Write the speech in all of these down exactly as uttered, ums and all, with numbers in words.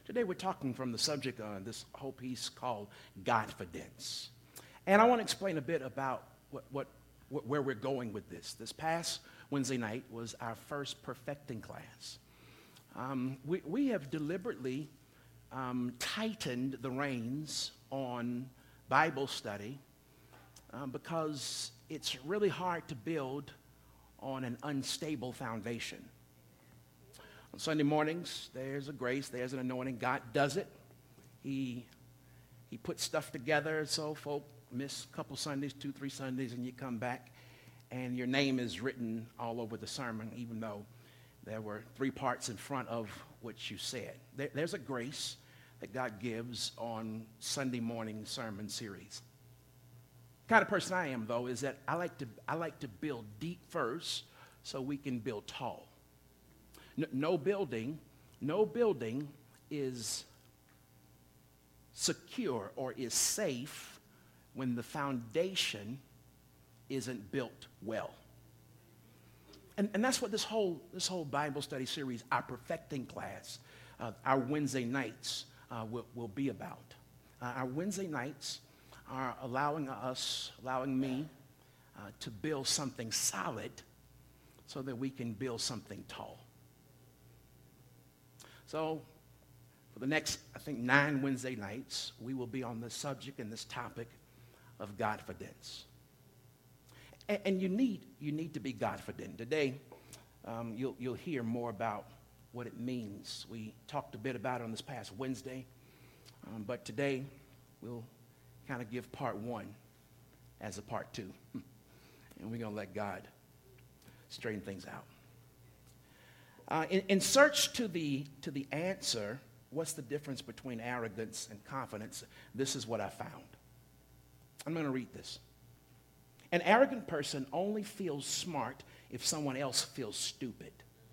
Today we're talking from the subject on this whole piece called Godfidence. And I want to explain a bit about what, what, what, where we're going with this. This past Wednesday night was our first perfecting class. Um, we, we have deliberately um, tightened the reins on Bible study um, because it's really hard to build on an unstable foundation. On Sunday mornings, there's a grace, there's an anointing. God does it. He, he puts stuff together so folk miss a couple Sundays, two, three Sundays, and you come back, and your name is written all over the sermon, even though there were three parts in front of what you said. There, there's a grace that God gives on Sunday morning sermon series. The kind of person I am, though, is that I like to I like to build deep first so we can build tall. No, no building, no building is secure or is safe when the foundation isn't built well. And, and that's what this whole this whole Bible study series, our perfecting class, uh, our Wednesday nights uh, will, will be about. Uh, our Wednesday nights are allowing us, allowing me uh, to build something solid so that we can build something tall. So for the next, I think, nine Wednesday nights, we will be on this subject and this topic of Godfidence. And, and you need you need to be Godfident. Today, um, you'll, you'll hear more about what it means. We talked a bit about it on this past Wednesday, um, but today we'll kind of give part one as a part two. And we're going to let God straighten things out. Uh, in, in search to the, to the answer, what's the difference between arrogance and confidence? This is what I found. I'm going to read this. An arrogant person only feels smart if someone else feels stupid.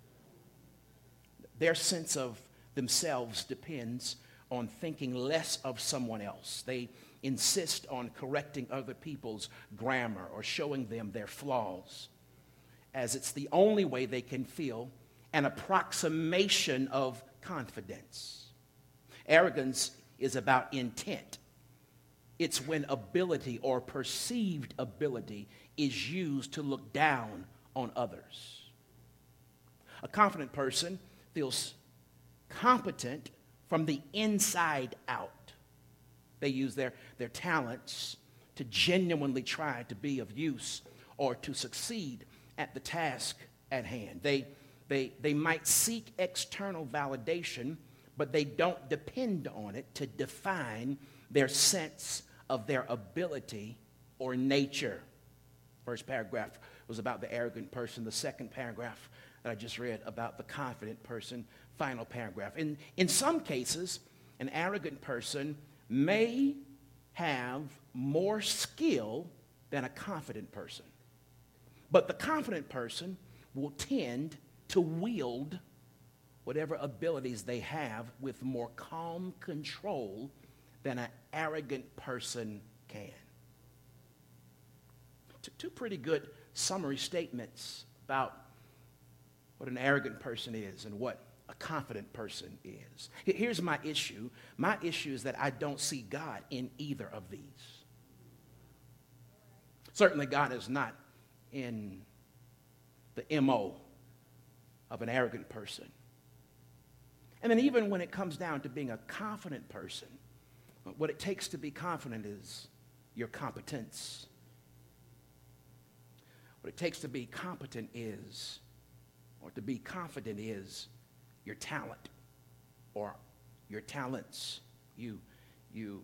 Their sense of themselves depends on thinking less of someone else. They insist on correcting other people's grammar or showing them their flaws, as it's the only way they can feel an approximation of confidence. Arrogance is about intent. It's when ability or perceived ability is used to look down on others. A confident person feels competent from the inside out. They use their, their talents to genuinely try to be of use or to succeed at the task at hand. They, they, they might seek external validation, but they don't depend on it to define their sense of their ability or nature. First paragraph was about the arrogant person. The second paragraph that I just read about the confident person. Final paragraph. In, in some cases, an arrogant person may have more skill than a confident person. But the confident person will tend to wield whatever abilities they have with more calm control than an arrogant person can. T- two pretty good summary statements about what an arrogant person is and what a confident person is. Here's my issue. My issue is that I don't see God in either of these. Certainly God is not in the M O of an arrogant person. And then even when it comes down to being a confident person, what it takes to be confident is your competence. What it takes to be competent is, or to be confident is, your talent or your talents. You, you,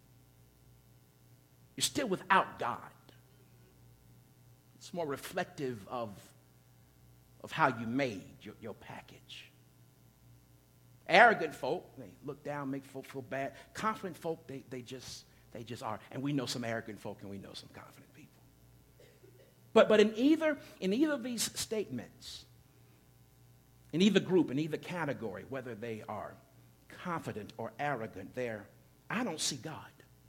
you're still without God. It's more reflective of, of how you made your, your package. Arrogant folk, they look down, make folk feel bad. Confident folk, they, they just they just are. And we know some arrogant folk and we know some confident people. But but in either in either of these statements, in either group, in either category, whether they are confident or arrogant, there, I don't see God.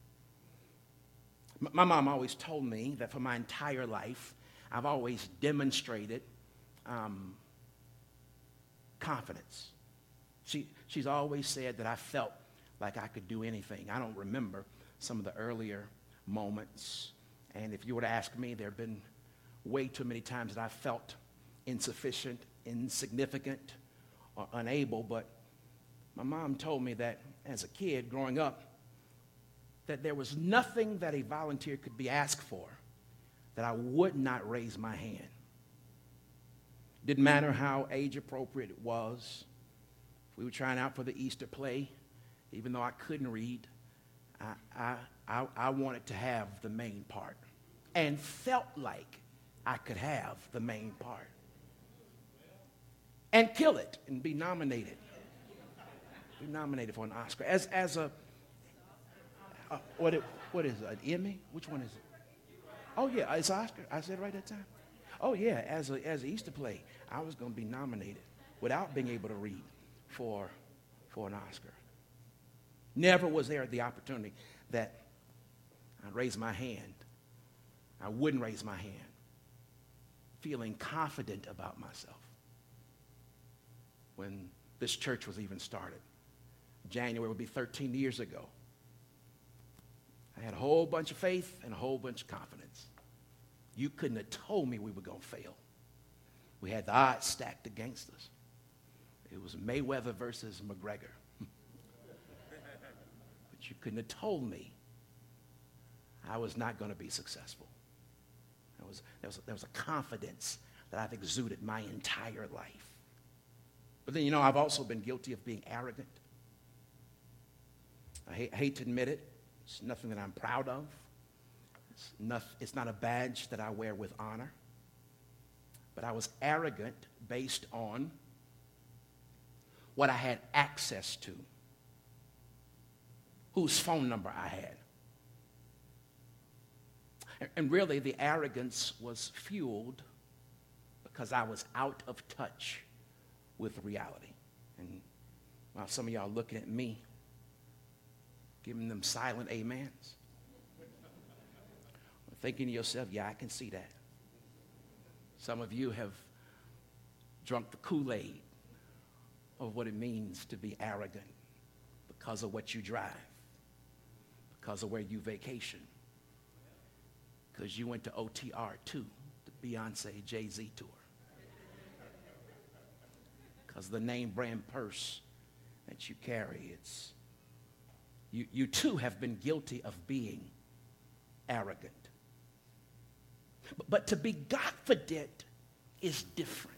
M- my mom always told me that for my entire life, I've always demonstrated um, confidence. She, she's always said that I felt like I could do anything. I don't remember some of the earlier moments. And if you were to ask me, there have been way too many times that I felt insufficient, insignificant, or unable. But my mom told me that as a kid growing up, that there was nothing that a volunteer could be asked for that I would not raise my hand. Didn't matter how age appropriate it was. If we were trying out for the Easter play, even though I couldn't read, I, I, I, I wanted to have the main part and felt like I could have the main part and kill it and be nominated. Be nominated for an Oscar. As, as a, uh, what, it, what is it, an Emmy? Which one is it? Oh, yeah, it's Oscar. I said it right that time. Oh, yeah, as a, as an Easter play, I was going to be nominated without being able to read for, for an Oscar. Never was there the opportunity that I'd raise my hand. I wouldn't raise my hand, feeling confident about myself. When this church was even started, January would be thirteen years ago. I had a whole bunch of faith and a whole bunch of confidence. You couldn't have told me we were going to fail. We had the odds stacked against us. It was Mayweather versus McGregor. But you couldn't have told me I was not going to be successful. There was, there, was, there was a confidence that I've exuded my entire life. But then, you know, I've also been guilty of being arrogant. I hate, hate to admit it. It's nothing that I'm proud of. It's not, it's not a badge that I wear with honor. But I was arrogant based on what I had access to, whose phone number I had. And, and really, the arrogance was fueled because I was out of touch with reality. And while some of y'all looking at me, giving them silent amens, thinking to yourself, yeah, I can see that. Some of you have drunk the Kool-Aid of what it means to be arrogant because of what you drive, because of where you vacation, because you went to O T R two, the Beyonce Jay-Z tour, because of the name brand purse that you carry. It's you, you too have been guilty of being arrogant. But, but to be Godfident is different.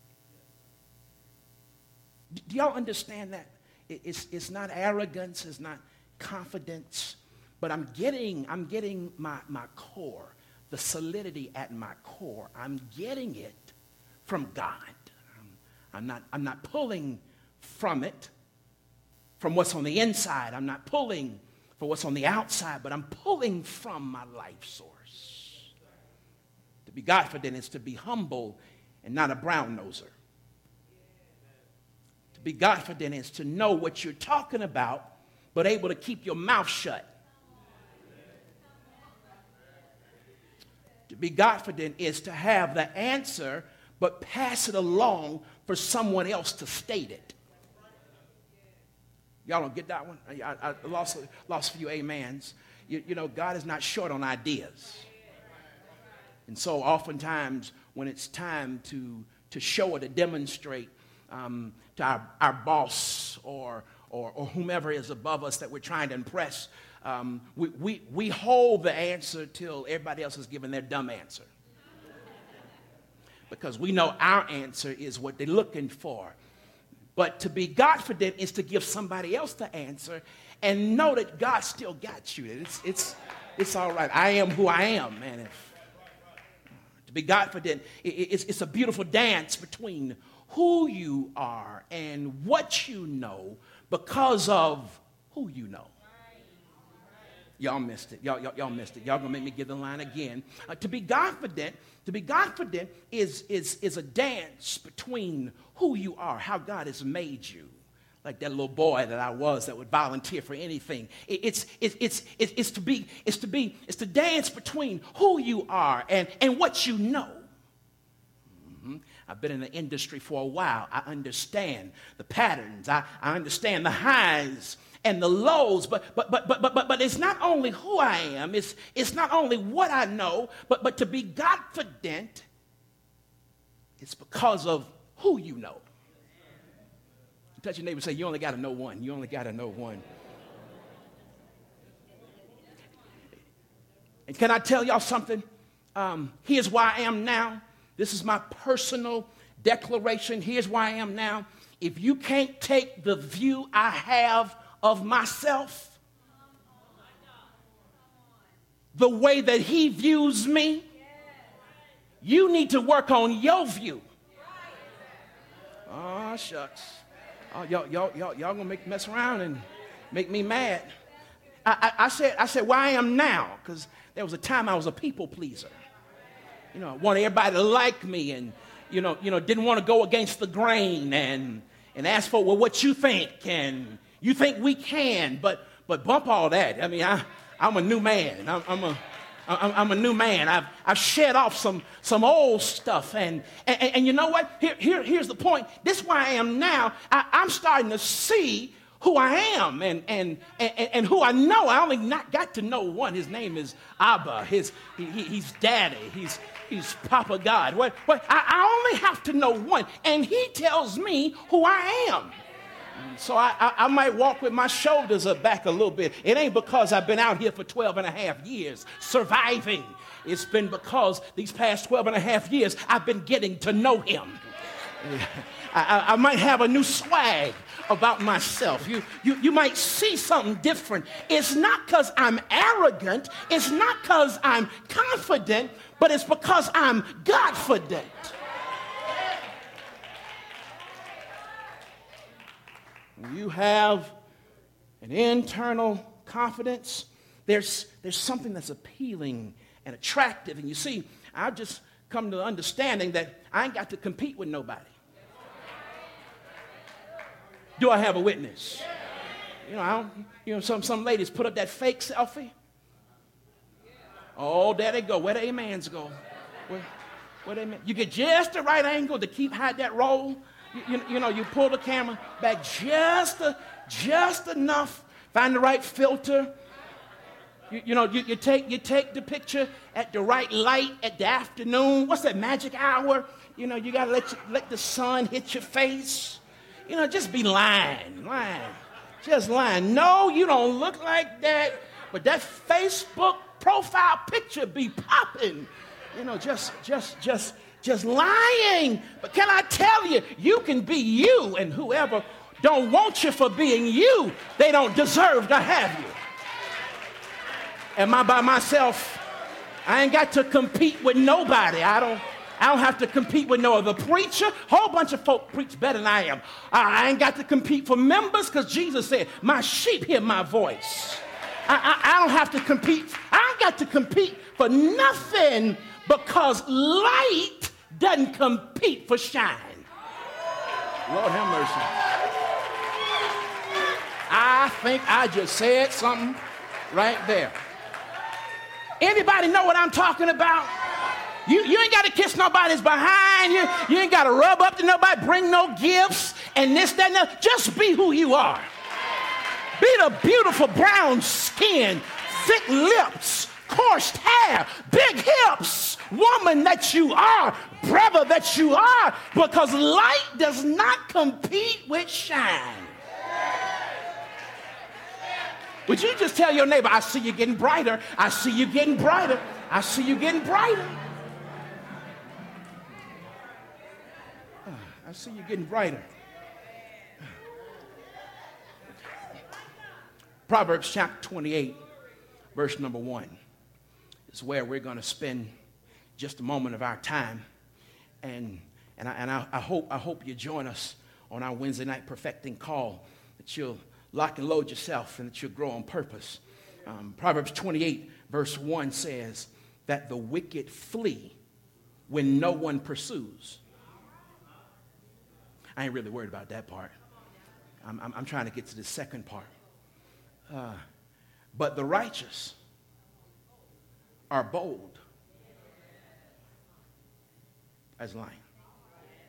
Do y'all understand that? It's, it's not arrogance, it's not confidence, but I'm getting, I'm getting my, my core, the solidity at my core. I'm getting it from God. I'm, I'm, not, I'm not pulling from it, from what's on the inside. I'm not pulling for what's on the outside, but I'm pulling from my life source. To be Godfident is to be humble and not a brown noser. To be Godfident is to know what you're talking about, but able to keep your mouth shut. To be Godfident is to have the answer, but pass it along for someone else to state it. Y'all don't get that one? I, I lost, lost a few amens. You, you know, God is not short on ideas. And so oftentimes when it's time to, to show or to demonstrate um, to our, our boss or, or, or whomever is above us that we're trying to impress, um, we, we, we hold the answer till everybody else has given their dumb answer. Because we know our answer is what they're looking for. But to be Godfident is to give somebody else the answer and know that God still got you. It's, it's, it's all right. I am who I am, man. If, to be Godfident, it, it's, it's a beautiful dance between who you are and what you know because of who you know. Y'all missed it. Y'all, y'all, y'all missed it. Y'all gonna make me give the line again. Uh, to be Godfident, to be Godfident is, is, is a dance between who you are, how God has made you. Like that little boy that I was that would volunteer for anything. It, it's, it, it's, it, it's to be, it's to be, it's to dance between who you are and, and what you know. Mm-hmm. I've been in the industry for a while. I understand the patterns. I, I understand the highs and the lows. But but but but but but but it's not only who I am. It's it's not only what I know. But but to be confident, it's because of who you know. Touch your neighbor and say, you only got to know one. You only got to know one. And can I tell y'all something? Um, here's why I am now. This is my personal declaration. Here's why I am now. If you can't take the view I have of myself, the way that he views me, you need to work on your view. Oh, shucks. Oh, y'all, y'all, y'all, y'all gonna make mess around and make me mad. I, I, I said, I said, where I am now, because there was a time I was a people pleaser. You know, I wanted everybody to like me, and you know, you know, didn't want to go against the grain, and and ask for, well, what you think, and you think we can, but but bump all that. I mean, I I'm a new man. I'm, I'm a I'm, I'm a new man. I've I've shed off some some old stuff, and and, and you know what? Here, here here's the point. This is where I am now. I, I'm starting to see who I am and and and, and who I know. I only not got to know one. His name is Abba. His he, he, he's Daddy. He's he's Papa God. What what? I, I only have to know one, and He tells me who I am. So I, I, I might walk with my shoulders up back a little bit. It ain't because I've been out here for twelve and a half years surviving. It's been because these past twelve and a half years I've been getting to know Him. I, I, I might have a new swag about myself. You, you, you might see something different. It's not because I'm arrogant. It's not because I'm confident, but it's because I'm Godfident. You have an internal confidence. There's, there's something that's appealing and attractive. And you see, I've just come to the understanding that I ain't got to compete with nobody. Do I have a witness? You know, I don't, you know, some, some ladies put up that fake selfie. Oh, there they go. Where the amens go? Where, where they, you get just the right angle to keep hide that roll. You, you, you know, you pull the camera back just, a, just enough. Find the right filter. You, you know, you, you, take, you take the picture at the right light at the afternoon. What's that magic hour? You know, you got to let, you, let the sun hit your face. You know, just be lying, lying, just lying. No, you don't look like that, but that Facebook profile picture be popping. You know, just, just, just, just lying. But can I tell you, you can be you, and whoever don't want you for being you, they don't deserve to have you. Am I by myself? I ain't got to compete with nobody. I don't. I don't have to compete with no other preacher. Whole bunch of folk preach better than I am. I ain't got to compete for members because Jesus said, my sheep hear my voice. I, I, I don't have to compete. I ain't got to compete for nothing because light doesn't compete for shine. Lord have mercy. I think I just said something right there. Anybody know what I'm talking about? You, you ain't got to kiss nobody's behind. You, you ain't got to rub up to nobody, bring no gifts, and this, that, and that. Just be who you are. Be the beautiful brown skin, thick lips, coarse hair, big hips, woman that you are, brother that you are, because light does not compete with shine. Would you just tell your neighbor, I see you getting brighter. I see you getting brighter. I see you getting brighter. I see you getting brighter. Proverbs chapter twenty-eight, verse number one is where we're going to spend just a moment of our time. And, and, I, and I, I, hope, I hope you join us on our Wednesday night perfecting call, that you'll lock and load yourself and that you'll grow on purpose. Um, Proverbs twenty-eight, verse one says that the wicked flee when no one pursues. I ain't really worried about that part. I'm, I'm, I'm trying to get to the second part. Uh, but the righteous are bold as lion.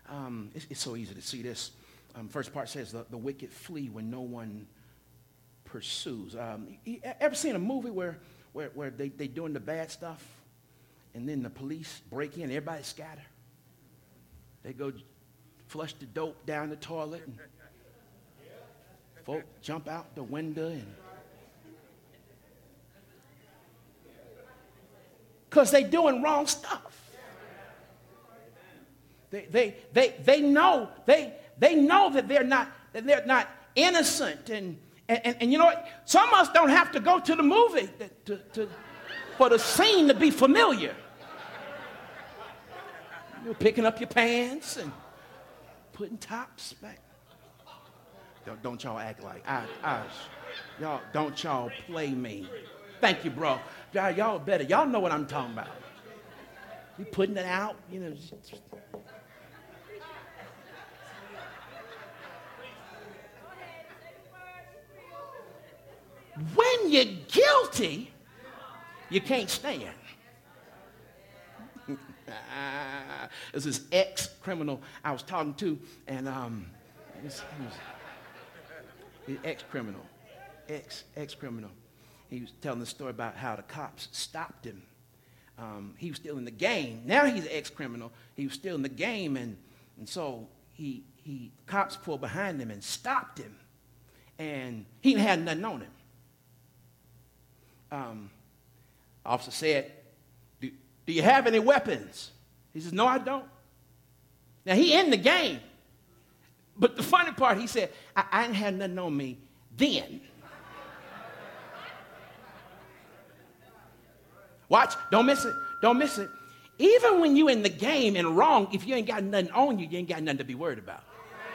Um, it's, it's so easy to see this. Um, first part says the, the wicked flee when no one pursues. Um, you ever seen a movie where, where, where they, they doing the bad stuff and then the police break in, everybody scatter? They go flush the dope down the toilet and folk jump out the window and because they doing wrong stuff. They, they, they, they know they, they know that they're not that they're not innocent, and, and, and you know what? Some of us don't have to go to the movie to, to, for the scene to be familiar. You're picking up your pants and putting tops back. Don't, don't y'all act like I, I, y'all don't y'all play me. Thank you, bro. Y'all, y'all better. Y'all know what I'm talking about. You putting it out, you know. When you're guilty, you can't stand. This is ex-criminal I was talking to, and um, this, he was ex-criminal, ex ex-criminal. He was telling the story about how the cops stopped him. Um, he was still in the game. Now he's an ex-criminal. He was still in the game, and and so he he cops pulled behind him and stopped him, and he had nothing on him. Um, officer said, do, do you have any weapons? He says, no, I don't. Now, he in the game. But the funny part, he said, I, I didn't have nothing on me then. Watch, don't miss it, don't miss it. Even when you in the game and wrong, if you ain't got nothing on you, you ain't got nothing to be worried about.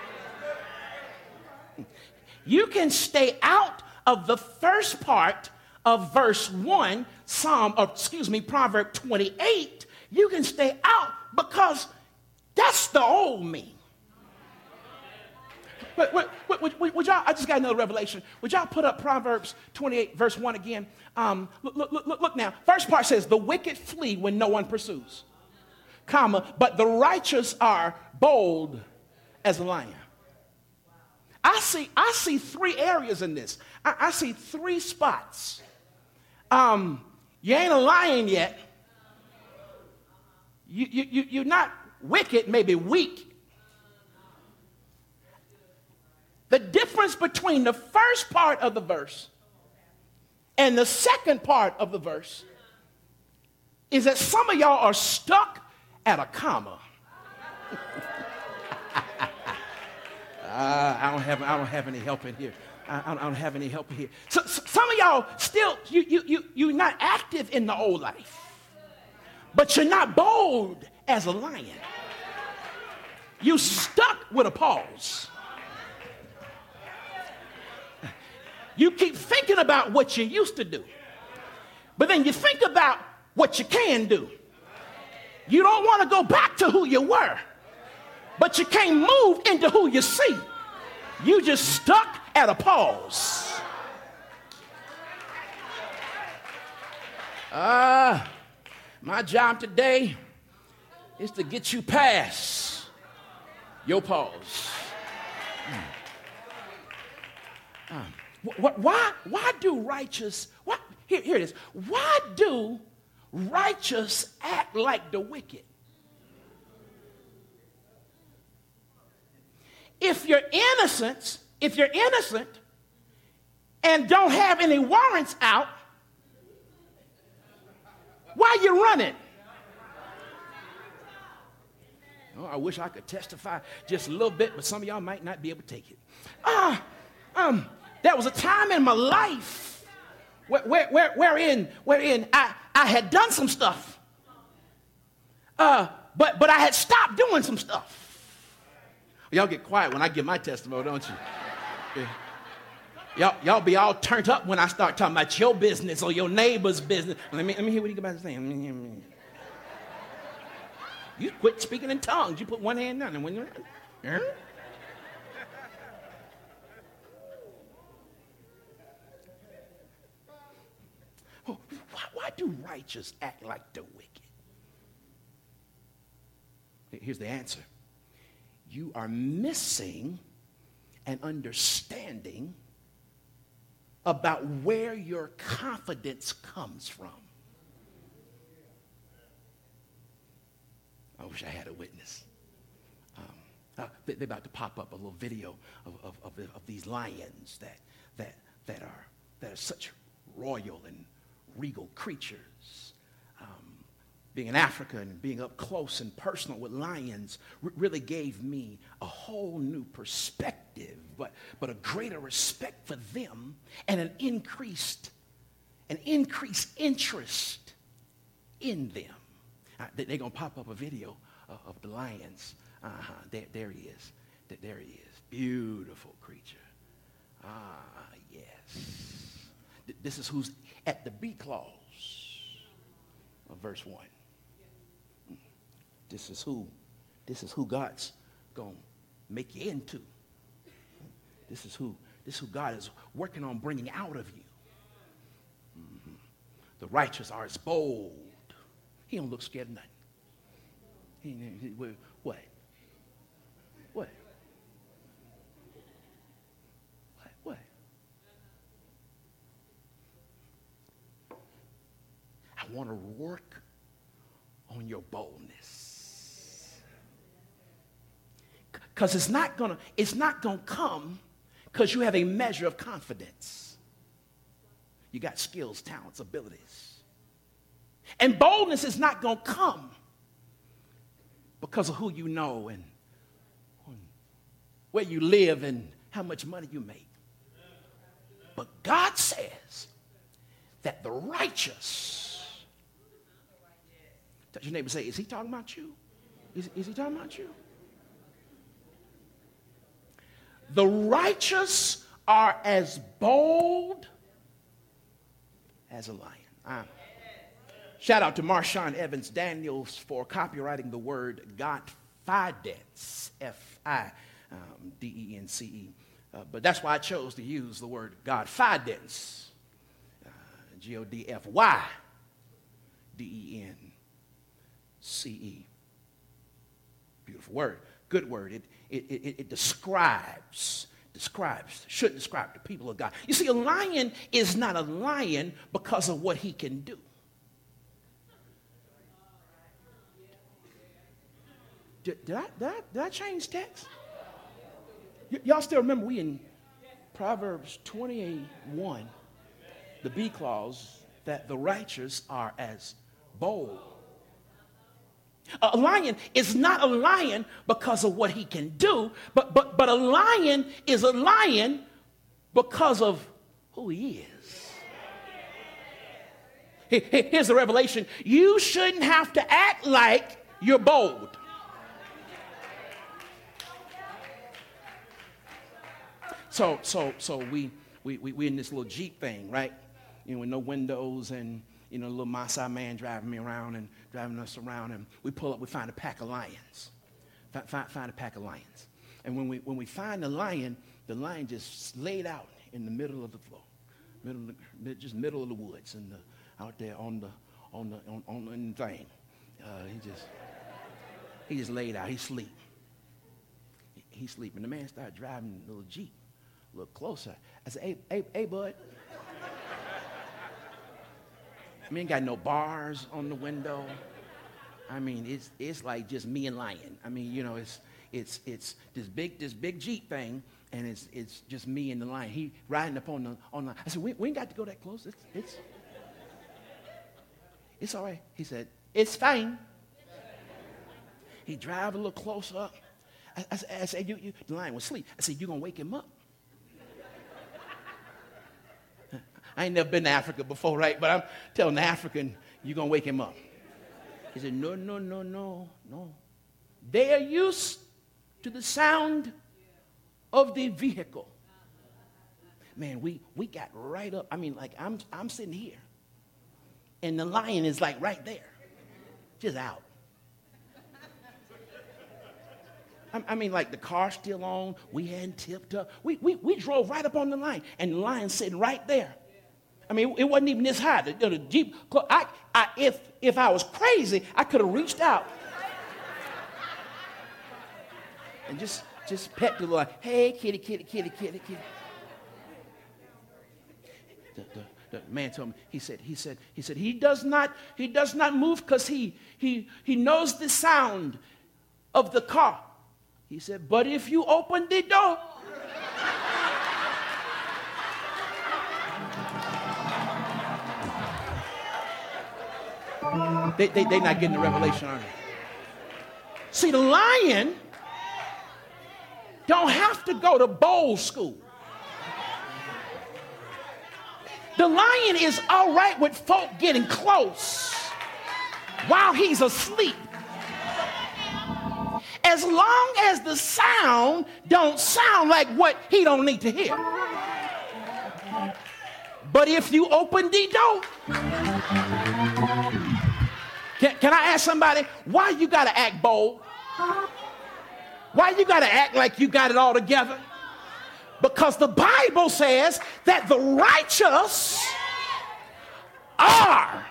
You can stay out of the first part of verse one, Psalm, or excuse me, Proverb twenty-eight. You can stay out because that's the old me. But would, would, would, would y'all, I just got another revelation. Would y'all put up Proverbs twenty-eight, verse one again? Um, look, look, look, look now. First part says, the wicked flee when no one pursues, comma, but the righteous are bold as a lion. I see, I see three areas in this. I, I see three spots. Um, you ain't a lion yet. You, you, you, you're not wicked, maybe weak. The difference between the first part of the verse and the second part of the verse is that some of y'all are stuck at a comma. uh, I don't have I don't have any help in here. I, I don't have any help in here. So, so some of y'all still you you you you're not active in the old life, but you're not bold as a lion. You stuck with a pause. You keep thinking about what you used to do, but then you think about what you can do. You don't want to go back to who you were, but you can't move into who you see. You just stuck at a pause. Ah, uh, my job today is to get you past your pause. Mm. Um, Why, why do righteous, why, here, here it is. Why do righteous act like the wicked? If you're innocent, if you're innocent and don't have any warrants out, why are you running? Oh, I wish I could testify just a little bit, but some of y'all might not be able to take it. Ah, uh, um. There was a time in my life where, where, where, wherein, wherein I, I had done some stuff, uh, but, but I had stopped doing some stuff. Y'all get quiet when I give my testimony, don't you? Yeah. Y'all, y'all be all turned up when I start talking about your business or your neighbor's business. Let me, let me hear what you about to say. You quit speaking in tongues. You put one hand down and when you're... Huh? Why, why do righteous act like the wicked? Here's the answer. you are missing an understanding about where your confidence comes from. I wish I had a witness. Um, uh, they, they're about to pop up a little video of, of, of, the, of these lions that, that, that, are, that are such royal and regal creatures. Um, being in Africa and being up close and personal with lions r- really gave me a whole new perspective, but, but a greater respect for them and an increased, an increased interest in them. Uh, they're going to pop up a video of, of the lions. Uh-huh. There, there he is. There, there he is. Beautiful creature. Ah, yes. Th- this is who's at the B clause of verse one. This is who, this is who God's going to make you into. This is who, this is who God is working on bringing out of you. Mm-hmm. The righteous are as bold. He don't look scared of nothing. He, he, what? What? What? What? I want to work on your boldness. Because it's not gonna, it's not gonna come because you have a measure of confidence. You got skills, talents, abilities. And boldness is not going to come because of who you know and where you live and how much money you make. But God says that the righteous, touch your neighbor and say, is he talking about you? Is, is he talking about you? The righteous are as bold as a lion. I'm Shout out to Marshawn Evans Daniels for copywriting the word Godfidence, F I D E N C E. Uh, but that's why I chose to use the word Godfidence, uh, G O D F Y D E N C E. Beautiful word, good word. It, it, it, it describes, describes, should describe the people of God. You see, a lion is not a lion because of what he can do. Did, did, I, did, I, did I change text? Y- y'all still remember we in Proverbs twenty-one, the B clause, that the righteous are as bold. A lion is not a lion because of what he can do, but, but, but a lion is a lion because of who he is. Here's the revelation. You shouldn't have to act like you're bold. So, so, so we, we, we, we in this little Jeep thing, right? You know, with no windows and, you know, a little Maasai man driving me around and driving us around. And we pull up, we find a pack of lions. Find, find, find a pack of lions. And when we, when we find the lion, the lion just laid out in the middle of the floor. Middle of the, just middle of the woods and the, out there on the, on the, on, on the thing. Uh, he just, he just laid out. He sleep. He, he sleep. And the man started driving the little Jeep. Look closer. I said, hey, hey, hey, bud. I mean, ain't got no bars on the window. I mean, it's it's like just me and lion. I mean, you know, it's it's it's this big this big Jeep thing, and it's it's just me and the lion. He riding up on the on the. I said, we, we ain't got to go that close. It's it's it's all right. He said, it's fine. He drive a little closer up. I, I, I said, you, you, the lion was asleep. I said, you gonna wake him up? I ain't never been to Africa before, right? But I'm telling the African, you're going to wake him up. He said, no, no, no, no, no. They are used to the sound of the vehicle. Man, we, we got right up. I mean, like, I'm, I'm sitting here, and the lion is, like, right there, just out. I, I mean, like, the car's still on. We hadn't tipped up. We, we, we drove right up on the line, and the lion's sitting right there. I mean, it wasn't even this high. The, the Jeep, I, I, if, if I was crazy, I could have reached out And just, just pet the little, hey, kitty, kitty, kitty, kitty, kitty. The, the, the man told me, he said, he said, he said, he does not, he does not move because he, he, he knows the sound of the car. He said, but if you open the door, they, they, they're not getting the revelation, are they? See, the lion don't have to go to bowl school. The lion is all right with folk getting close while he's asleep, as long as the sound don't sound like what he don't need to hear. But if you open the door, can, can I ask somebody, why you gotta act bold? Why you gotta act like you got it all together? Because the Bible says that the righteous are.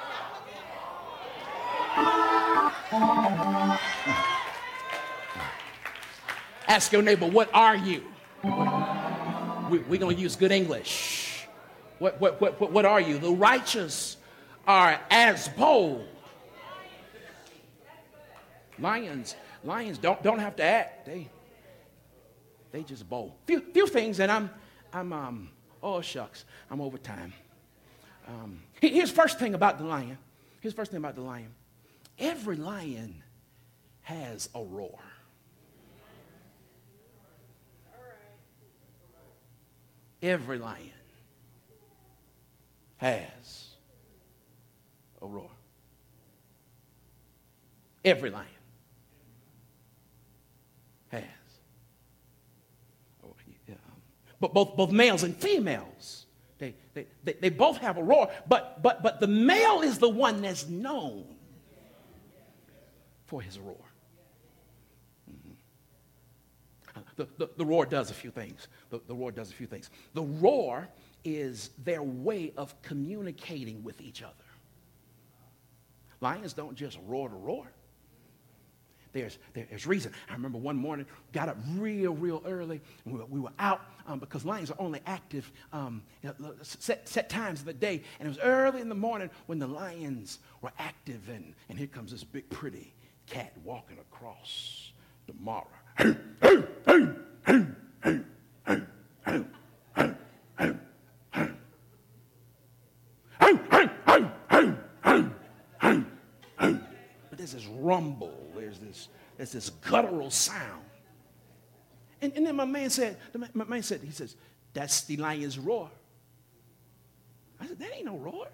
Ask your neighbor, what are you? We, we're going to use good English. What, what, what, what, what are you? The righteous are as bold. Lions, lions don't, don't have to act. They, they just bold. Few, few things, and I'm, I'm, um, oh shucks, I'm over time. Um, here's first thing about the lion. Here's first thing about the lion. Every lion has a roar. Every lion has a roar. Every lion has. Oh, yeah. But both, both males and females, they, they, they, they both have a roar, but, but, but the male is the one that's known for his roar. The, the, the roar does a few things. The, the roar does a few things. The roar is their way of communicating with each other. Lions don't just roar to roar. There's, there's reason. I remember one morning, got up real, real early, and we were, we were out um, because lions are only active um, you know, set, set times of the day. And it was early in the morning when the lions were active, and, and here comes this big, pretty cat walking across the Mara. But there's this rumble, there's this, there's this guttural sound. And, and then my man said, my man said, he says, that's the lion's roar. I said, that ain't no roar.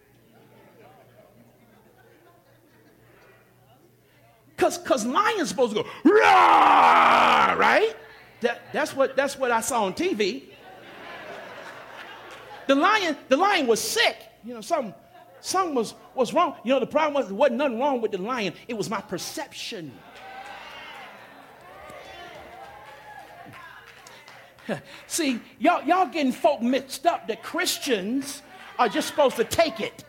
Because because lions supposed to go, roar, right? That, that's, what, that's what I saw on T V. The lion, the lion was sick. You know, something, something was, was wrong. You know, the problem was there wasn't nothing wrong with the lion. It was my perception. See, y'all, y'all getting folk mixed up that Christians are just supposed to take it.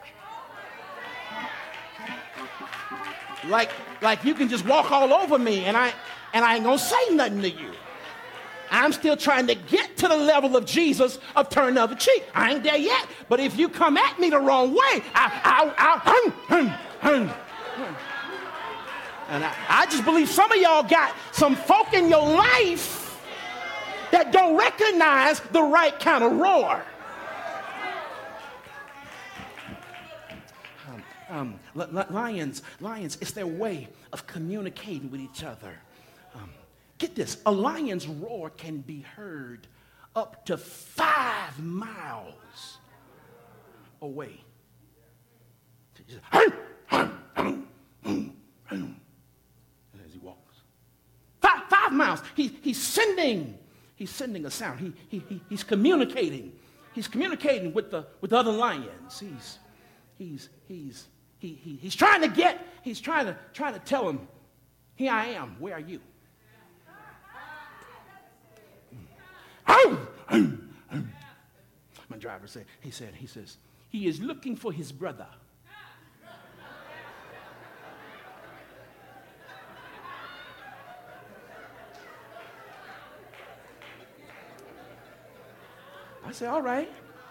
Like, like you can just walk all over me and I, and I ain't gonna say nothing to you. I'm still trying to get to the level of Jesus of turn the other cheek. I ain't there yet. But if you come at me the wrong way, I, I, I, hum, hum, hum, hum. And I, I just believe some of y'all got some folk in your life that don't recognize the right kind of roar. Um, lions, lions, it's their way of communicating with each other. Um, get this, a lion's roar can be heard up to five miles away. As he walks. Five, five miles. He, he's sending, he's sending a sound. He, he, he, he's communicating. He's communicating with the with the other lions. He's, he's, he's, He, he, he's trying to get, he's trying to, trying to tell him, here I am, where are you? My driver said, he said, he says, he is looking for his brother. said, all right.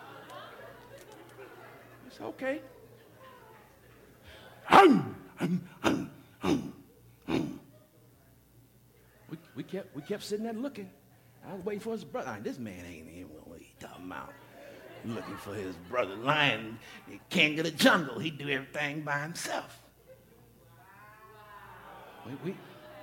I said, okay. We, we kept we kept sitting there looking. I was waiting for his brother. I mean, this man ain't even what he talking about. Looking for his brother. Lion, king of the jungle. He do everything by himself. We, we,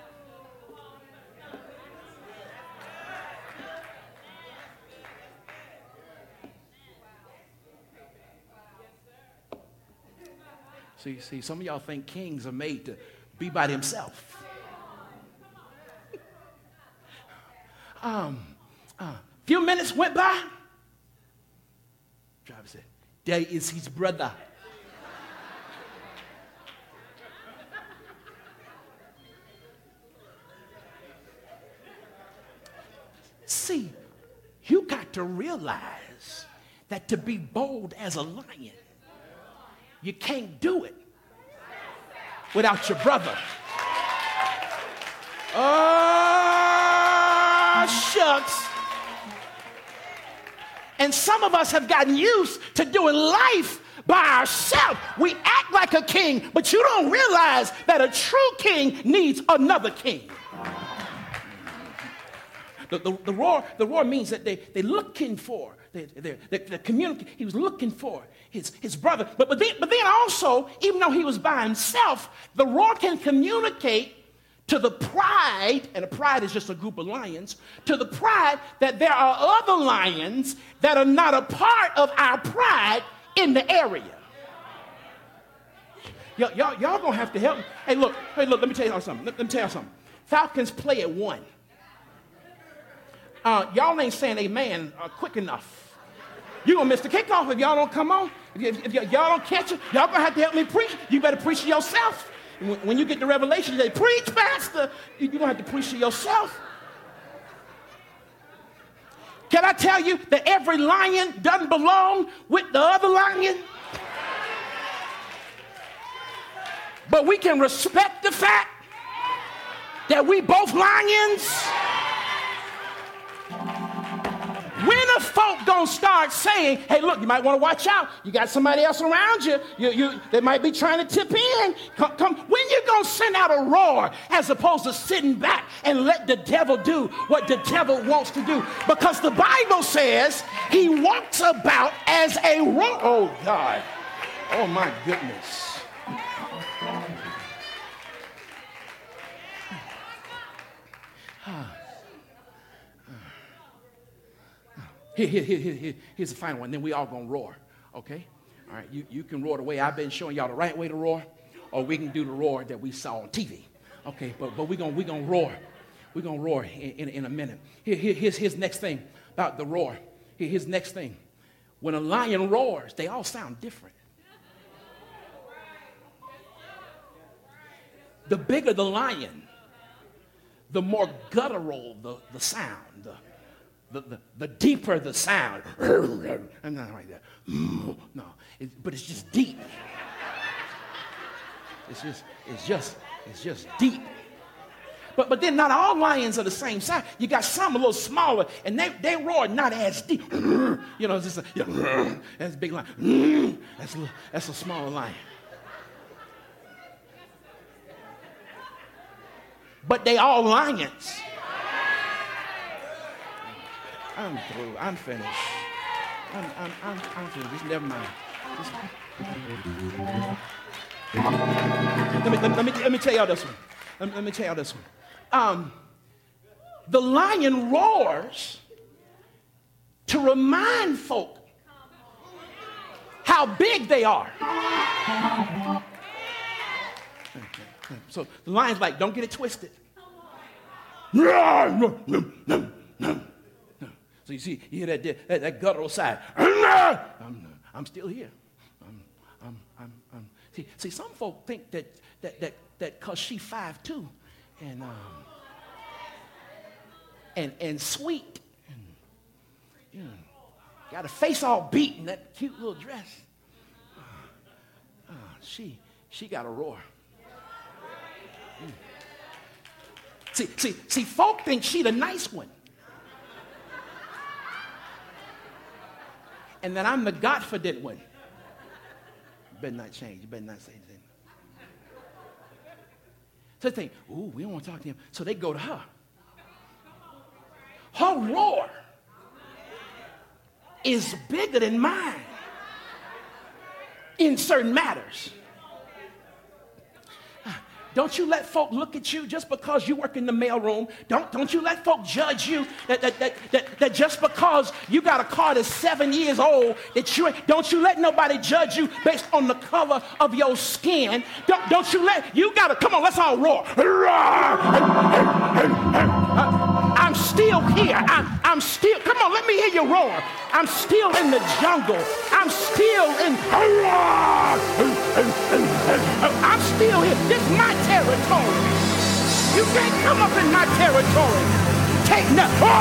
see, see, some of y'all think kings are made to be by themselves. Um, uh, few minutes went by. Driver said, there is his brother. See, you got to realize that to be bold as a lion, you can't do it without your brother. Oh, shucks. And some of us have gotten used to doing life by ourselves. We act like a king, but you don't realize that a true king needs another king. The, the, the, roar, the roar means that they, they're looking for, they, they, they, the community, he was looking for his, his brother. But, but, then, but then also, even though he was by himself, the roar can communicate to the pride, and a pride is just a group of lions, to the pride that there are other lions that are not a part of our pride in the area. Y'all, y'all, y'all gonna have to help me. Hey, look, hey, look, let me tell you something. Let, let me tell you something. Falcons play at one. Uh, y'all ain't saying amen uh, quick enough. You're going to miss the kickoff if y'all don't come on. If, y- if y- y'all don't catch it, y'all going to have to help me preach. You better preach to yourself. When, when you get the revelation, you say, preach, pastor. You're going to have to preach to yourself. Can I tell you that every lion doesn't belong with the other lion? But we can respect the fact that we both lions. When are folk gonna start saying, hey, look, you might want to watch out. You got somebody else around you. You, you. They might be trying to tip in. Come, come. When you gonna send out a roar as opposed to sitting back and let the devil do what the devil wants to do? Because the Bible says he walks about as a roar. Oh, God. Oh, my goodness. Here, here, here, here, here's the final one. Then we all gonna roar, okay? All right, you, you can roar the way I've been showing y'all the right way to roar, or we can do the roar that we saw on T V, okay? But but we gonna we gonna roar, we gonna roar in, in, in a minute. Here, here here's his next thing about the roar. Here, his next thing. When a lion roars, they all sound different. The bigger the lion, the more guttural the, the sound. The, The, the, the deeper the sound. I'm not like that. No, it, but it's just deep. It's just, it's just, it's just deep. But but then not all lions are the same size. You got some a little smaller, and they, they roar not as deep. You know, it's just a, yeah, that's a big lion. That's a, that's a smaller lion. But they all lions. I'm through. I'm finished. I'm, I'm, I'm, I'm finished. Just never mind. Just... Let, me, let, me, let, me, let me tell y'all this one. Let me, let me tell y'all this one. Um, the lion roars to remind folk how big they are. So the lion's like, don't get it twisted. So you see, you hear that, that, that guttural side. I'm, I'm still here. I'm, I'm, I'm, I'm. See, see, some folk think that that that that cause she five two, and um, and and sweet, and you know, got a face all beat in that cute little dress. Uh, uh, she she got a roar. Mm. See, see, see, folk think she the nice one. And then I'm the confident one. You better not change. You better not say anything. So they think, ooh, we don't want to talk to him. So they go to her. Her roar is bigger than mine in certain matters. Don't you let folk look at you just because you work in the mailroom. Don't, don't you let folk judge you that, that, that, that, that just because you got a car that's seven years old, that you don't you let nobody judge you based on the color of your skin. Don't, don't you let, you got to, come on, let's all roar. I'm still here. I'm, I'm still, come on, let me hear you roar. I'm still in the jungle. I'm still in, I'm still here. This is my territory. You can't come up in my territory. Take nothing.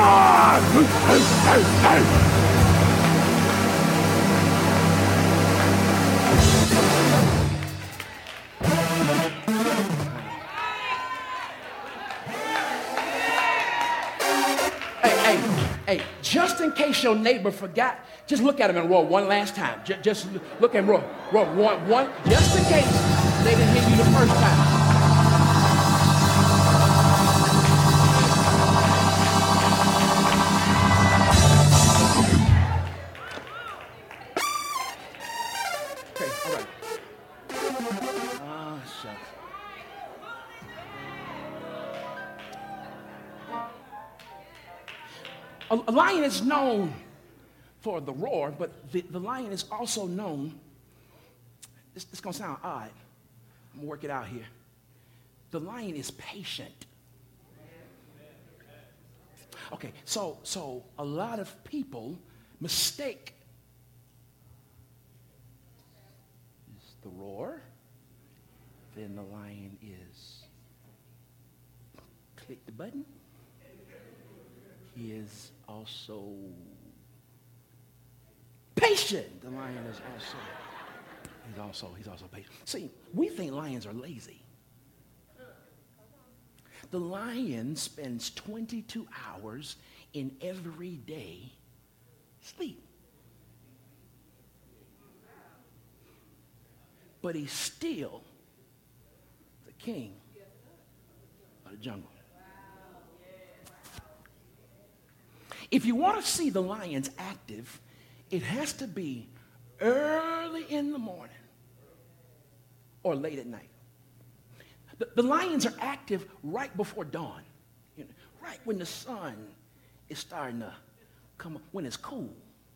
Hey, hey, hey, just in case your neighbor forgot, just look at him and roar one last time. Just, just look and roar. Roar one, one, just in case they didn't hear you the first time. Okay, all right. Oh, shucks. A, a lion is known for the roar, but the, the lion is also known, this is going to sound odd. I'm going to work it out here. The lion is patient. Okay, so, so a lot of people mistake the roar, then the lion is, click the button, he is also patient. The lion is also, he's also, he's also patient. See, we think lions are lazy. The lion spends twenty-two hours in every day sleep. But he's still the king of the jungle. If you want to see the lions active, it has to be early in the morning or late at night. The, the lions are active right before dawn, you know, right when the sun is starting to come up, when it's cool.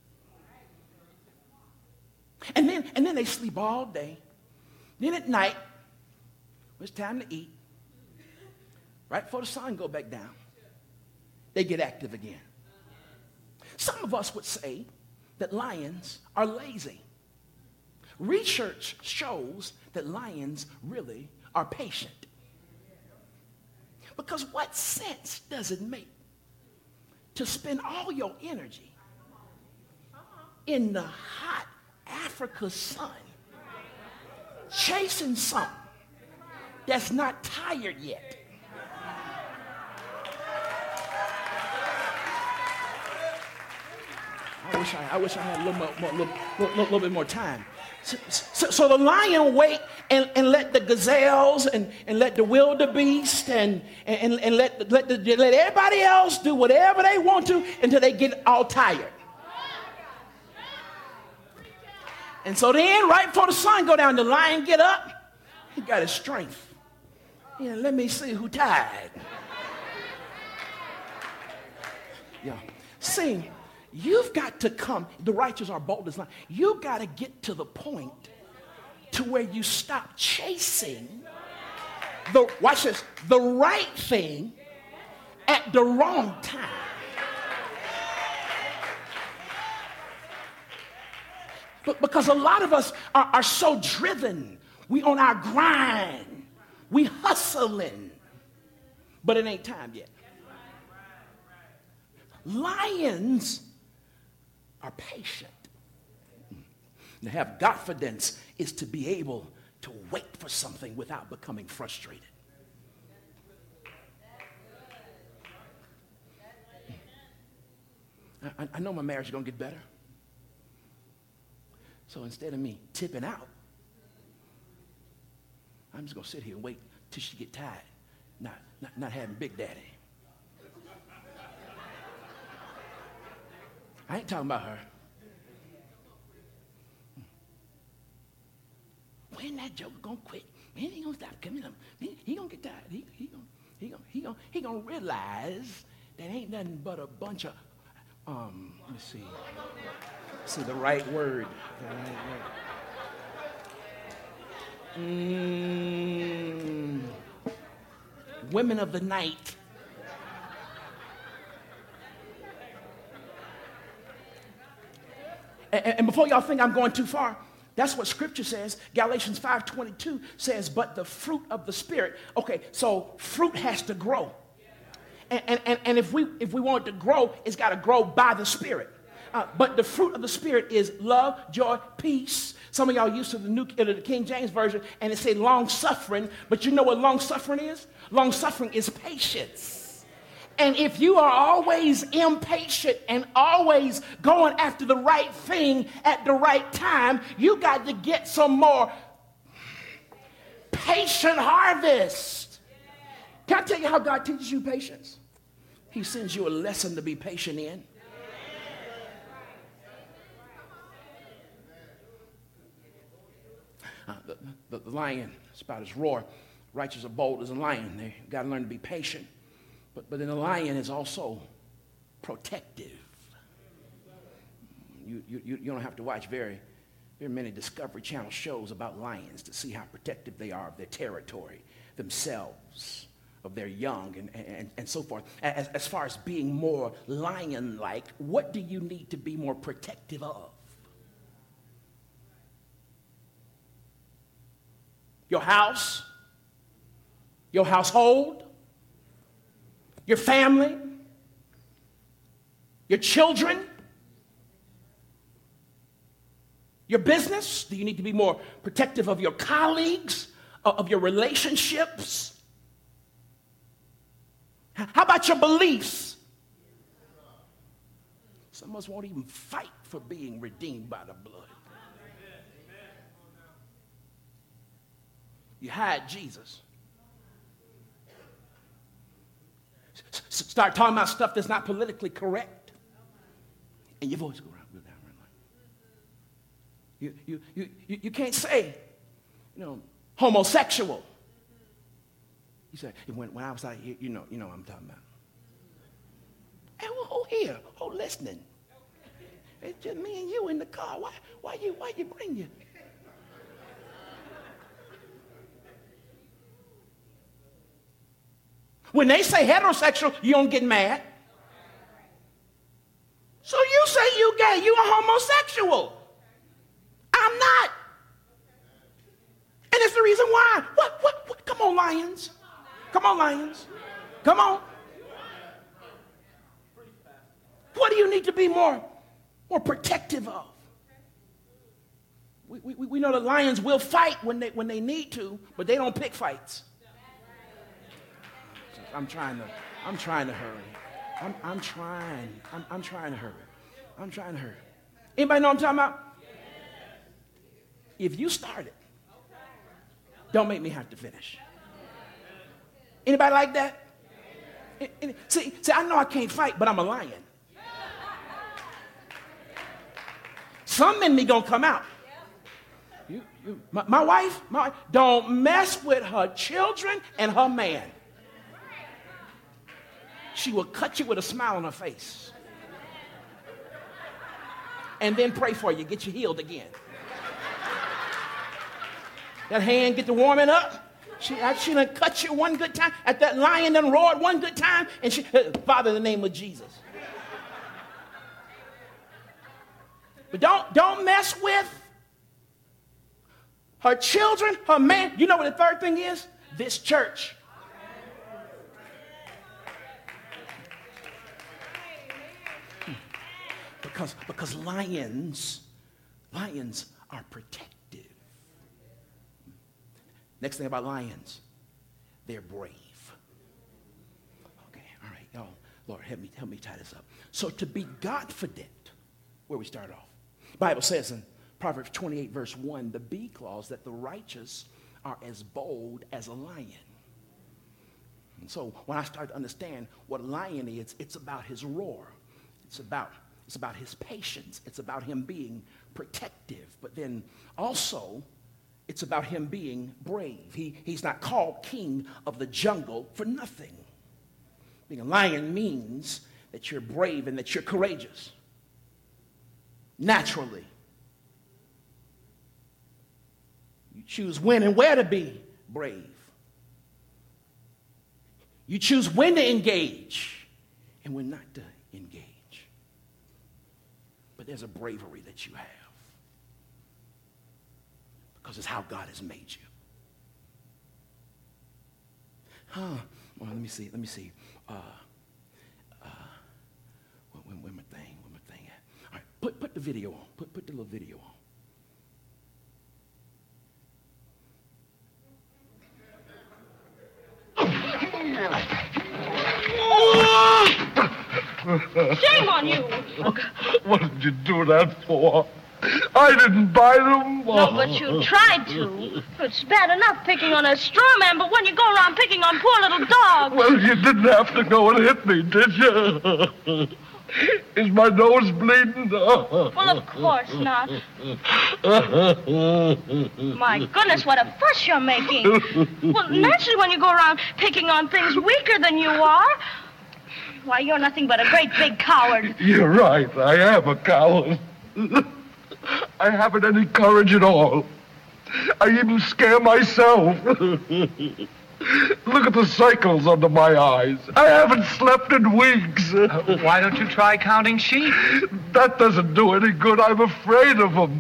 And then, and then they sleep all day. Then at night, when it's time to eat, right before the sun go back down, they get active again. Some of us would say that lions are lazy. Research shows that lions really are patient. Because what sense does it make to spend all your energy in the hot Africa sun chasing something that's not tired yet? I wish I, I wish I had a little, more, more, little, little, little bit more time. So, so, so the lion wait and, and let the gazelles and, and let the wildebeest and, and, and let, let, the, let everybody else do whatever they want to until they get all tired. And so then, right before the sun go down, the lion get up. He got his strength. Yeah, let me see who tired. Yeah. See, you've got to come, the righteous are bold as lions. You've got to get to the point to where you stop chasing the, watch this, the right thing at the wrong time. But because a lot of us are, are so driven, we on our grind, we hustling, but it ain't time yet. Lions are patient. To have confidence is to be able to wait for something without becoming frustrated. I, I know my marriage is going to get better. So instead of me tipping out, I'm just going to sit here and wait till she get tired, not, not, not having Big Daddy. I ain't talking about her. When that joker gonna quit? When he gonna stop coming up? He, he gonna get tired. He, he gonna he gonna he gonna he gonna realize that ain't nothing but a bunch of um. Let me see. See the right word. The right word. Mm, women of the night. And, and before y'all think I'm going too far, that's what Scripture says. Galatians five twenty-two says, but the fruit of the Spirit. Okay, so fruit has to grow. And, and, and, and if we if we want it to grow, it's got to grow by the Spirit. Uh, but the fruit of the Spirit is love, joy, peace. Some of y'all used to the New uh, the King James Version, and it said long suffering. But you know what long suffering is? Long suffering is patience. And if you are always impatient and always going after the right thing at the right time, you got to get some more patient harvest. Can I tell you how God teaches you patience? He sends you a lesson to be patient in. Uh, the, the, the lion spouts roar, righteous are bold as a lion. They got to learn to be patient. But, but then the lion is also protective. You, you, you don't have to watch very, very many Discovery Channel shows about lions to see how protective they are of their territory, themselves, of their young, and, and, and so forth. As, as far as being more lion-like, what do you need to be more protective of? Your house? Your household? Your family, your children, your business? Do you need to be more protective of your colleagues, of your relationships? How about your beliefs? Some of us won't even fight for being redeemed by the blood. You hide Jesus. Start talking about stuff that's not politically correct, and your voice go around, go down, right? You, you, you, you, you can't say, you know, homosexual. You say, when, when I was out here, you know, you know what I'm talking about. Hey, well, who here? Who listening? It's just me and you in the car. Why, why you, why you bring you? When they say heterosexual, you don't get mad. So you say you gay, you a homosexual. I'm not. And it's the reason why. What, what, what? Come on, lions. Come on, lions. Come on. What do you need to be more, more protective of? We, we, we know the lions will fight when they, when they need to, but they don't pick fights. I'm trying to, I'm trying to hurry. I'm, I'm trying, I'm, I'm trying to hurry. I'm trying to hurry. Anybody know what I'm talking about? If you start it, don't make me have to finish. Anybody like that? See, see, I know I can't fight, but I'm a lion. Some in me gonna come out. You, you, my, my wife, my wife, don't mess with her children and her man. She will cut you with a smile on her face. And then pray for you, get you healed again. That hand get to warming up. She, she done cut you one good time. At that lion done roared one good time. And she, Father, in the name of Jesus. But don't, don't mess with her children, her man. You know what the third thing is? This church. Because, because lions, lions are protective. Next thing about lions, they're brave. Okay, all right, y'all. Lord, help me, help me tie this up. So to be Godfident, where we start off. The Bible says in Proverbs twenty-eight, verse one, the B clause, that the righteous are as bold as a lion. And so when I start to understand what a lion is, it's about his roar. It's about, it's about his patience. It's about him being protective. But then also, it's about him being brave. He, he's not called king of the jungle for nothing. Being a lion means that you're brave and that you're courageous. Naturally. You choose when and where to be brave. You choose when to engage and when not to engage. But there's a bravery that you have because it's how God has made you. Huh. Well, let me see. Let me see. Uh, uh, where, where my thing? Where my thing at? All right. Put put the video on. Put put the little video on. Shame on you! What did you do that for? I didn't buy them. No, but you tried to. It's bad enough picking on a straw man, but when you go around picking on poor little dogs... Well, you didn't have to go and hit me, did you? Is my nose bleeding? Well, of course not. My goodness, what a fuss you're making. Well, naturally, when you go around picking on things weaker than you are, why, you're nothing but a great big coward. You're right. I am a coward. I haven't any courage at all. I even scare myself. Look at the circles under my eyes. I haven't slept in weeks. Uh, why don't you try counting sheep? That doesn't do any good. I'm afraid of them.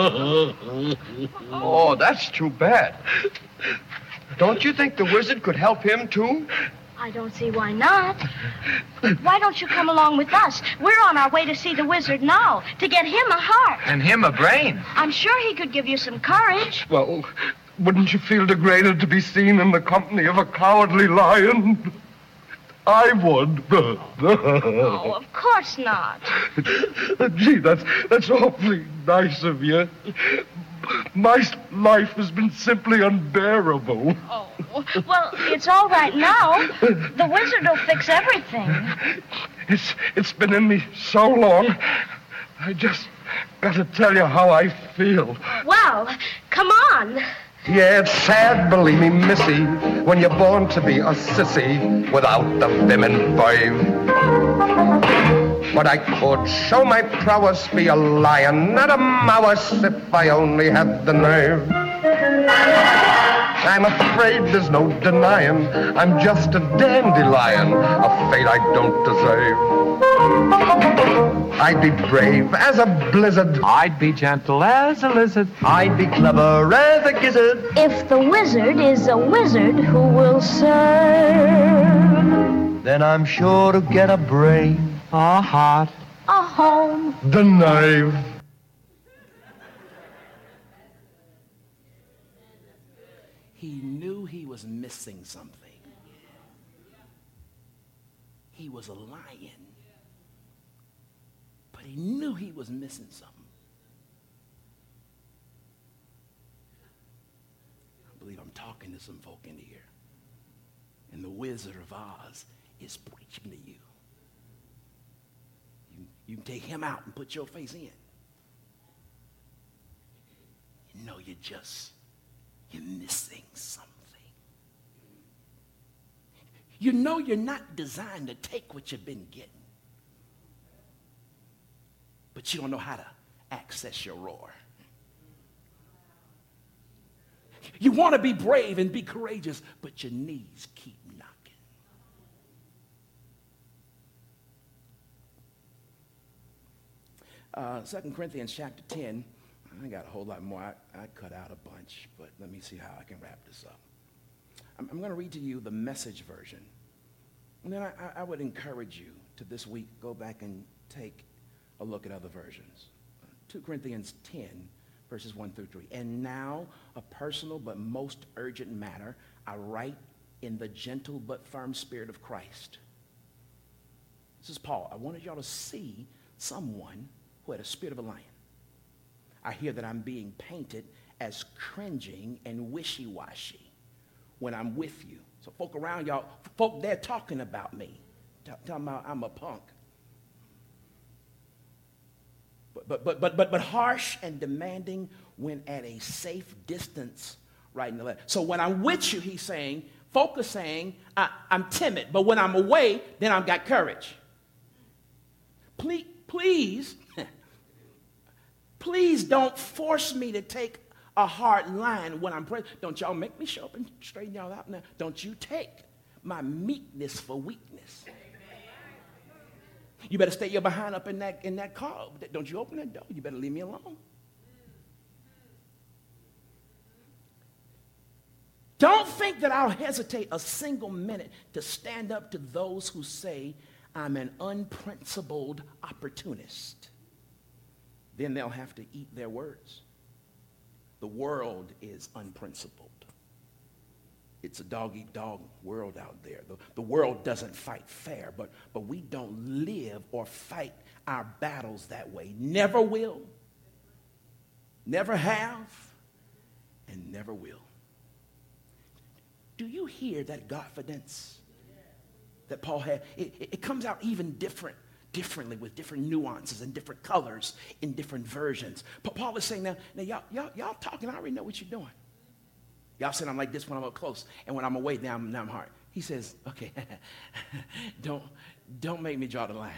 Oh, that's too bad. Don't you think the wizard could help him, too? I don't see why not. Why don't you come along with us? We're on our way to see the wizard now, to get him a heart. And him a brain. I'm sure he could give you some courage. Well, wouldn't you feel degraded to be seen in the company of a cowardly lion? I would. Oh, of course not. Gee, that's, that's awfully nice of you. My life has been simply unbearable. Oh, well, it's all right now. The wizard will fix everything. It's, it's been in me so long. I just got to tell you how I feel. Well, come on. Yeah, it's sad, believe me, missy, when you're born to be a sissy without the vim and vibe. But I could show my prowess, be a lion, not a mouse, if I only had the nerve. I'm afraid there's no denying I'm just a dandelion, a fate I don't deserve. I'd be brave as a blizzard. I'd be gentle as a lizard. I'd be clever as a gizzard. If the wizard is a wizard who will serve, Then I'm sure to get a brain. A heart. a home. The knife. He knew he was missing something. He was a lion, but he knew he was missing something. I believe I'm talking to some folk in here, and the Wizard of Oz is preaching to you. You, you can take him out and put your face in. You know you're just, you're missing something. You know you're not designed to take what you've been getting. But you don't know how to access your roar. You want to be brave and be courageous, but your knees keep knocking. Uh, Second Corinthians chapter ten. I got a whole lot more. I, I cut out a bunch, but let me see how I can wrap this up. I'm, I'm going to read to you the Message version. And then I, I would encourage you to this week go back and take a look at other versions. Second Corinthians ten, verses one through three. And now, a personal but most urgent matter, I write in the gentle but firm spirit of Christ. This is Paul. I wanted y'all to see someone who had a spirit of a lion. I hear that I'm being painted as cringing and wishy-washy when I'm with you. So folk around y'all, folk, they're talking about me, talking about I'm a punk. But, but, but, but, but, but harsh and demanding when at a safe distance writing the letter. So when I'm with you, he's saying, folk are saying, I, I'm timid, but when I'm away, then I've got courage. Please, please, please don't force me to take a hard line when I'm praying. Don't y'all make me show up and straighten y'all out now. Don't you take my meekness for weakness. You better stay your behind up in that, in that car. Don't you open that door. You better leave me alone. Don't think that I'll hesitate a single minute to stand up to those who say I'm an unprincipled opportunist. Then they'll have to eat their words. The world is unprincipled. It's a dog-eat-dog world out there. The, the world doesn't fight fair, but, but we don't live or fight our battles that way. Never will, never have, and never will. Do you hear that confidence that Paul had? It, it, it comes out even different, differently with different nuances and different colors in different versions. But Paul is saying now, now y'all, y'all, y'all talking, I already know what you're doing. Y'all said I'm like this when I'm up close, and when I'm away, now I'm, now I'm hard. He says, okay, don't, don't make me draw the line.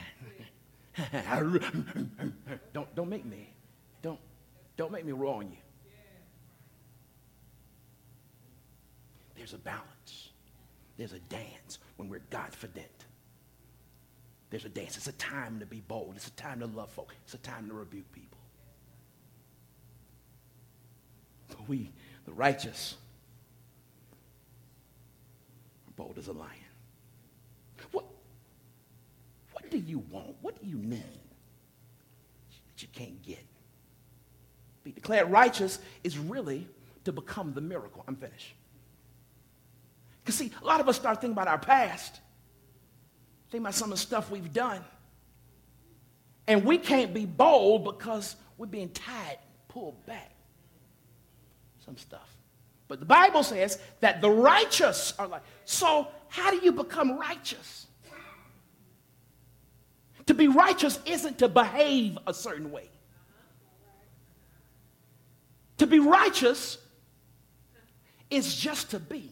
don't, don't make me, don't, don't make me roar on you. There's a balance. There's a dance when we're confident. There's a dance. It's a time to be bold. It's a time to love folk. It's a time to rebuke people. But we, the righteous, are bold as a lion. What, what do you want? What do you need that you can't get? Be declared righteous is really to become the miracle. I'm finished. Because, see, a lot of us start thinking about our past, think about some of the stuff we've done, and we can't be bold because we're being tied, pulled back. Some stuff. But the Bible says that the righteous are like, so how do you become righteous? To be righteous isn't to behave a certain way. To be righteous is just to be.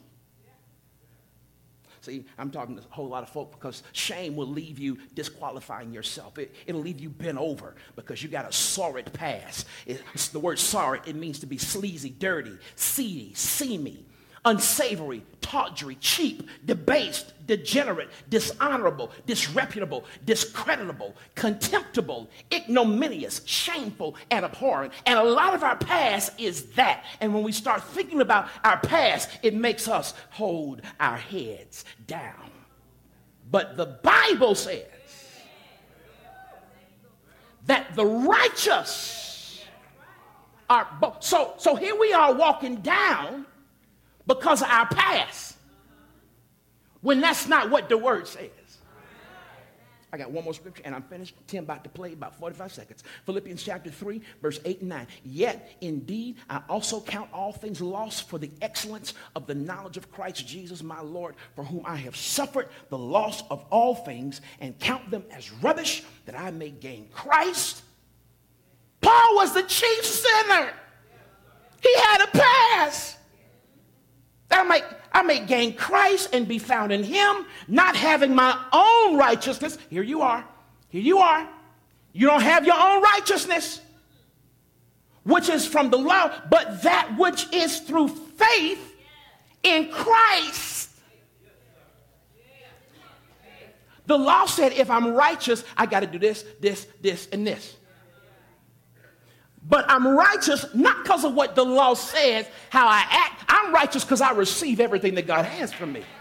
See, I'm talking to a whole lot of folk because shame will leave you disqualifying yourself. It, it'll leave you bent over because you got a sordid past. It's the word sordid. It means to be sleazy, dirty, seedy, seamy, unsavory, tawdry, cheap, debased, degenerate, dishonorable, disreputable, discreditable, contemptible, ignominious, shameful, and abhorrent. And a lot of our past is that. And when we start thinking about our past, it makes us hold our heads down. But the Bible says that the righteous are both. So, so here we are walking down because of our past, when that's not what the word says. I got one more scripture and I'm finished. Tim about to play about forty-five seconds. Philippians chapter three, verse eight and nine. Yet indeed I also count all things lost for the excellence of the knowledge of Christ Jesus my Lord, for whom I have suffered the loss of all things and count them as rubbish, that I may gain Christ. Paul was the chief sinner. He had a past. I may, I may gain Christ and be found in him, not having my own righteousness. Here you are. Here you are. You don't have your own righteousness, which is from the law, but that which is through faith in Christ. The law said if I'm righteous, I got to do this, this, this, and this. But I'm righteous not because of what the law says, how I act. I'm righteous because I receive everything that God has from me.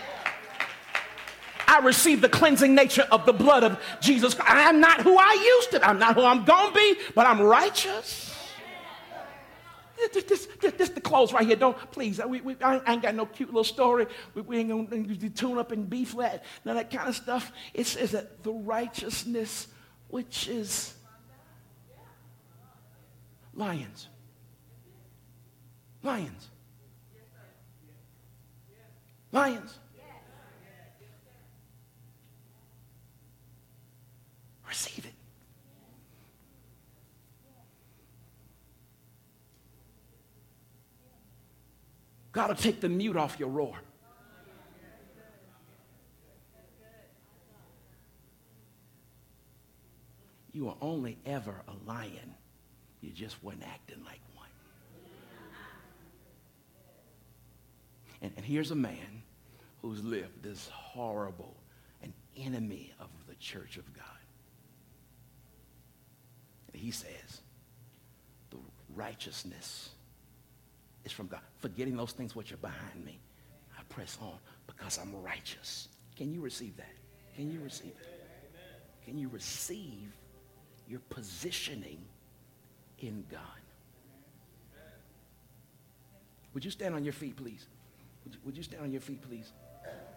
I receive the cleansing nature of the blood of Jesus Christ. I'm not who I used to. I'm not who I'm going to be, but I'm righteous. This, this, this, this the close right here. Don't, please, we, we, I ain't got no cute little story. We, we ain't going to tune up in B flat. None of that kind of stuff. It says that the righteousness which is Lions. Lions. Lions. Receive it. God will take the mute off your roar. You are only ever a lion. You just weren't acting like one. And, and here's a man who's lived this horrible, an enemy of the church of God. And he says, the righteousness is from God. Forgetting those things which are behind me, I press on because I'm righteous. Can you receive that? Can you receive it? Can you receive your positioning in God? Would you stand on your feet, please? Would you, would you stand on your feet, please?